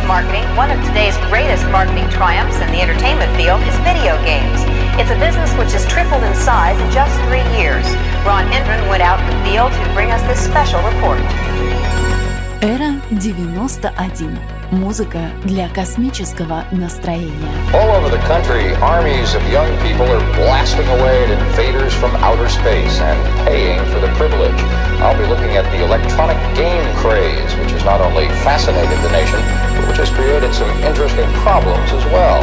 of marketing, one of today's greatest marketing triumphs in the entertainment field is video games. It's a business which has tripled in size in just 3 years. Ron Hendren went out in the field to bring us this special report. Эра 91. Музыка для космического настроения. All over the country, armies of young people are blasting away at invaders from outer space and paying for the privilege. I'll be looking at the electronic game craze, which has not only fascinated the nation, but which has created some interesting problems as well.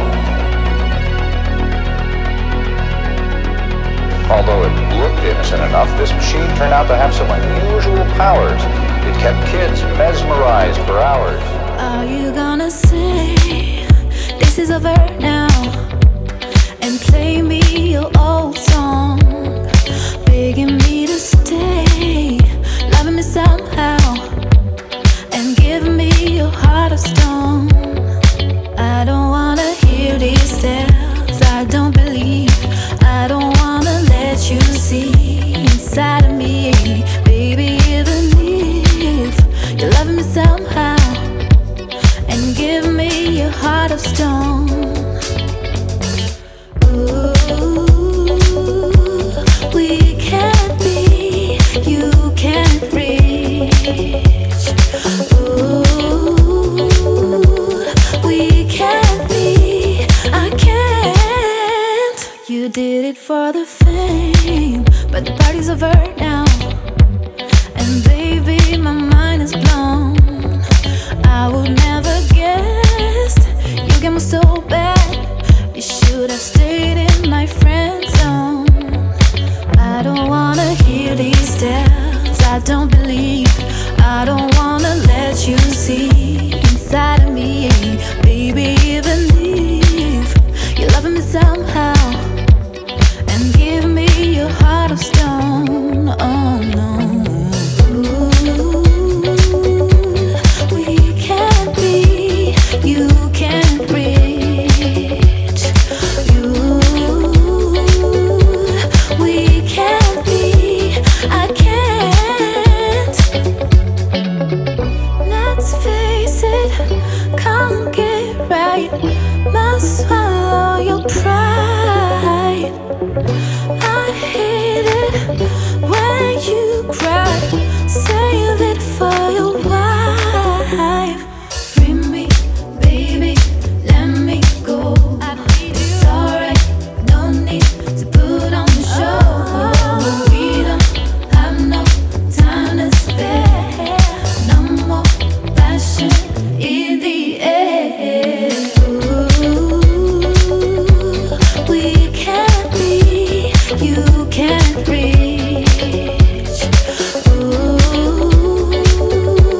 Although it looked innocent enough, this machine turned out to have some unusual powers. It kept kids mesmerized for hours. Are you gonna say this is over now and play me your old song, begging me to stay, loving me somehow, and give me your heart of stone? I don't wanna hear these tales, I don't believe, I don't wanna let you see inside of me, baby, even if you're loving me somehow, and give me your heart of stone. Ooh, we can't be, you can't reach. Ooh, we can't be, I can't. You did it for the fame, but the party's over now, and baby, my mind is blown. I would never guessed you get me so bad. You should have stayed in my friend zone. I don't wanna hear these tales, I don't believe, I don't wanna let you see inside of me, baby, even if you're loving me somehow, and give me your heart of stone. Oh no. You can't reach. We can't be, I can't. Let's face it, can't get right. Must swallow your pride. I hate it when you cry. Save it for your wife. Can't reach. Ooh.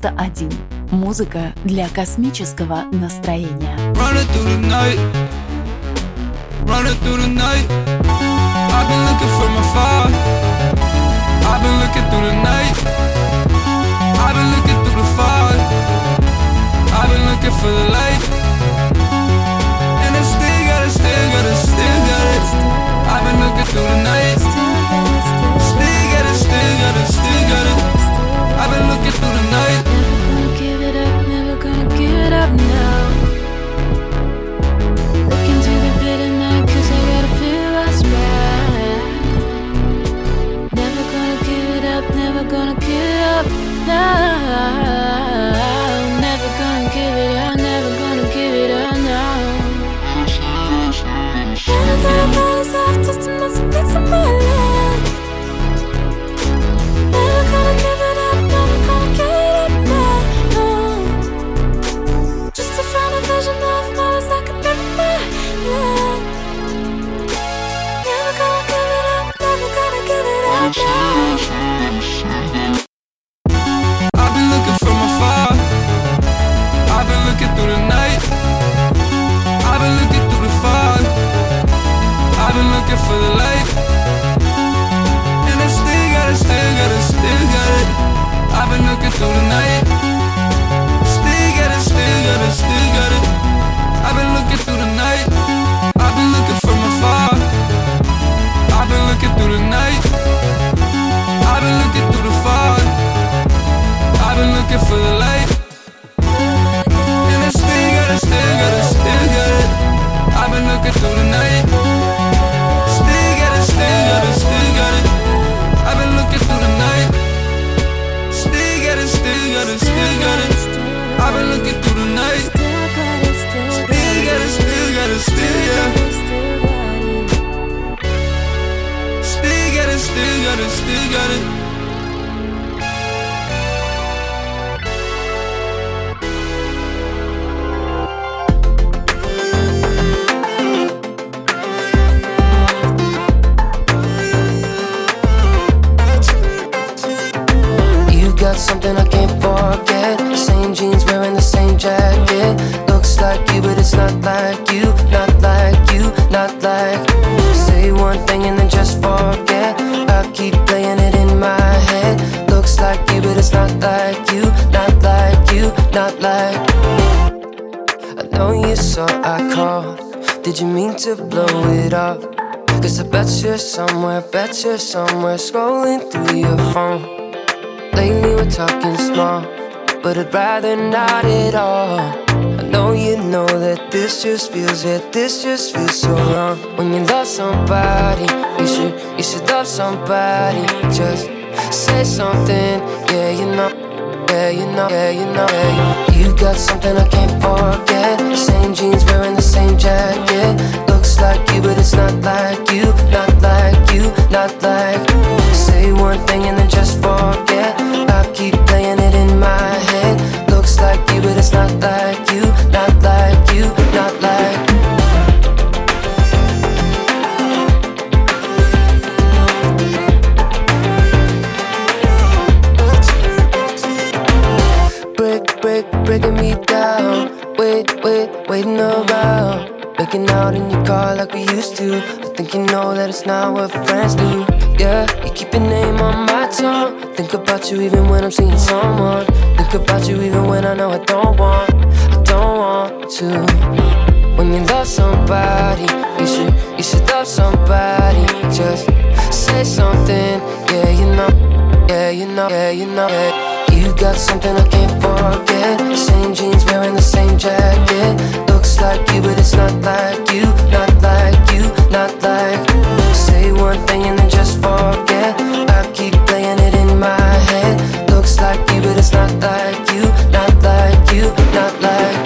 91. Музыка для космического настроения. Running through the night, running through the night. I've been looking from afar. I've been looking through the night. I've been looking through the fog. I've been looking for the light. And I still got it. I've been looking through the night. Still got it. I've been looking through the night. Never gonna give it up now. Looking to the bitter night, 'cause I gotta feel what's back. Never gonna give it up now. Never gonna give it up. Never gonna give it up now. Never gonna find myself just to mess with bits of my life. Never gonna give it up, never gonna give it up now. No. Just to find a vision of flowers I could live my life. Never gonna give it up, never gonna give it up now. I've been looking from afar. I've been looking through the night. I've been looking through the fog. I've been looking for the light. And I still got it. I've been looking through the night. Still got it. I've been looking through the night. I've been looking from afar. I've been looking through the night. I've been looking through the fog. I've been looking for the light. And I still got it. I've been looking through the night. Still got it. I've been looking through the night. Still got it. I've been looking through the night. Still got it. Got something I can't forget. Same jeans wearing the same jacket. Looks like you, but it's not like you. Not like you, not like. Say one thing and then just forget. I keep playing it in my head. Looks like you, but it's not like you. Not like you, not like. I know you saw I called. Did you mean to blow it up? 'Cause I bet you're somewhere scrolling through your phone. Lately we're talking small, but I'd rather not at all. I know you know that this just feels so wrong. When you love somebody, you should love somebody. Just say something, yeah you know. You got something I can't forget. Same jeans wearing the same jacket. Looks like you, but it's not like you. Not like you, not like. Say one thing and then just forget. I keep playing it in my head. Looks like you, but it's not like you. Not like you, not like. Breaking me down. Waiting around. Making out in your car like we used to. I think you know that it's not what friends do. Yeah, you keep your name on my tongue. Think about you even when I'm seeing someone. Think about you even when I know I don't want to. When you love somebody, you should love somebody. Just say something, yeah you know. You got something I can't forget. Same jeans wearing the same jacket. Looks like you, but it's not like you. Not like you, not like. Say one thing and then just forget. I keep playing it in my head. Looks like you, but it's not like you. Not like you, not like.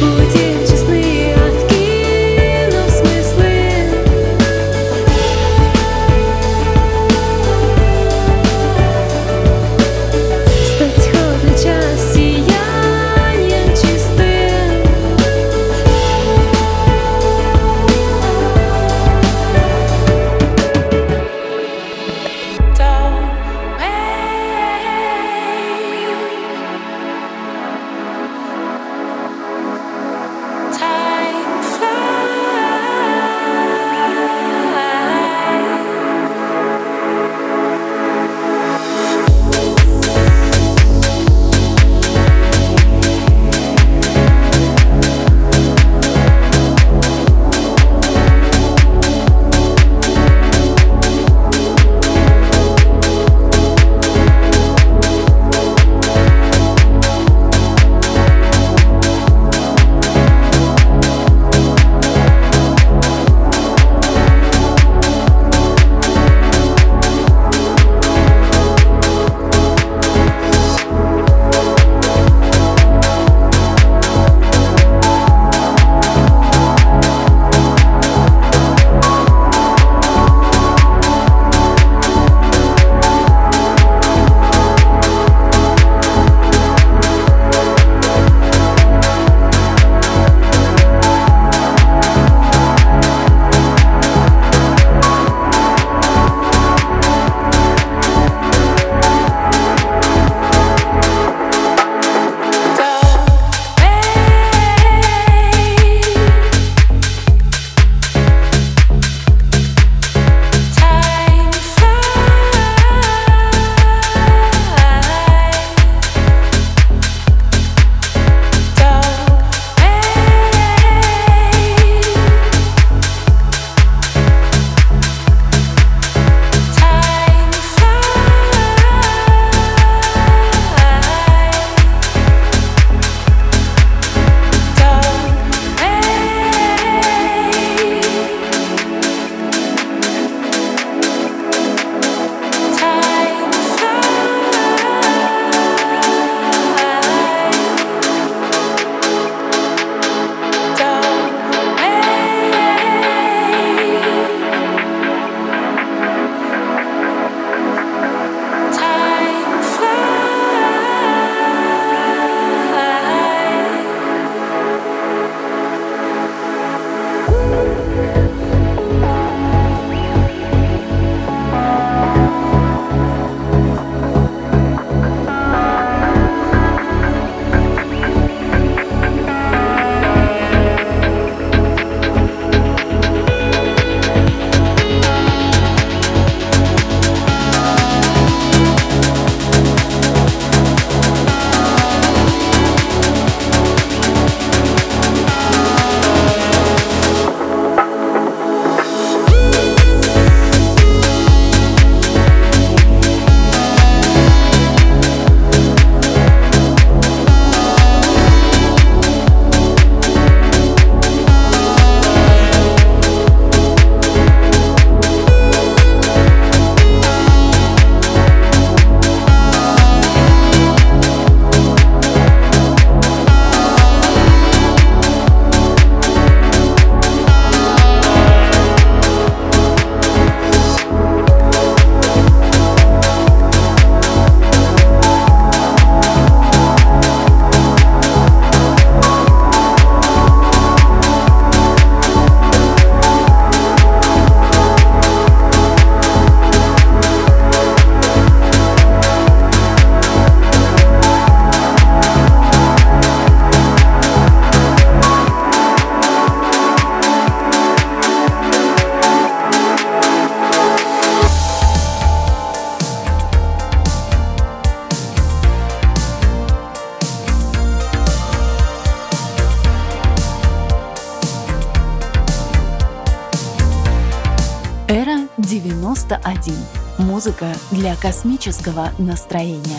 91. Музыка для космического настроения.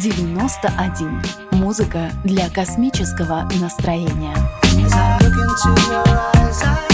91. Музыка для космического настроения. As I look into your eyes,